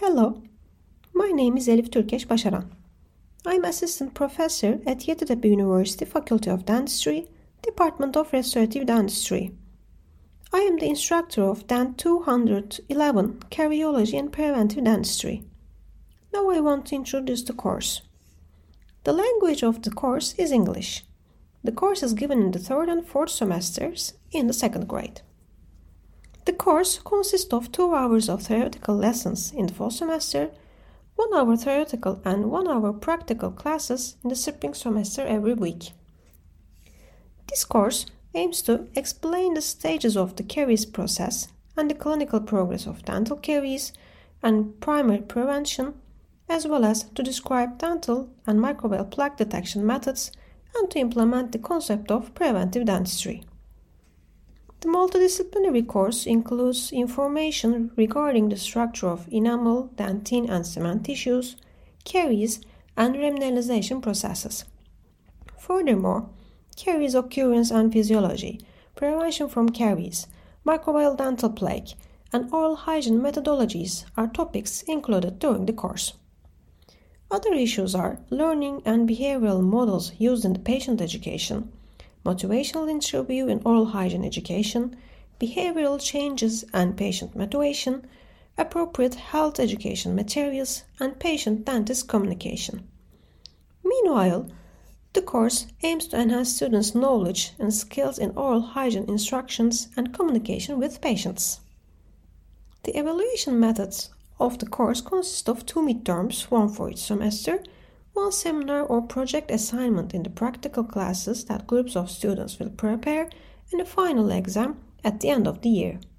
Hello, my name is Elif Türkeş Başaran. I'm Assistant Professor at Yeditepe University Faculty of Dentistry, Department of Restorative Dentistry. I am the instructor of Dent 211, Caryology and Preventive Dentistry. Now I want to introduce the course. The language of the course is English. The course is given in the third and fourth semesters in the second grade. The course consists of 2 hours of theoretical lessons in the fall semester, 1 hour theoretical and 1 hour practical classes in the spring semester every week. This course aims to explain the stages of the caries process and the clinical progress of dental caries and primary prevention, as well as to describe dental and microbial plaque detection methods and to implement the concept of preventive dentistry. The multidisciplinary course includes information regarding the structure of enamel, dentine and cement tissues, caries, and remineralization processes. Furthermore, caries occurrence and physiology, prevention from caries, microbial dental plaque, and oral hygiene methodologies are topics included during the course. Other issues are learning and behavioral models used in the patient education, motivational interview in oral hygiene education, behavioral changes and patient motivation, appropriate health education materials, and patient-dentist communication. Meanwhile, the course aims to enhance students' knowledge and skills in oral hygiene instructions and communication with patients. The evaluation methods of the course consist of 2 midterms, one for each semester, 1 seminar or project assignment in the practical classes that groups of students will prepare, and a final exam at the end of the year.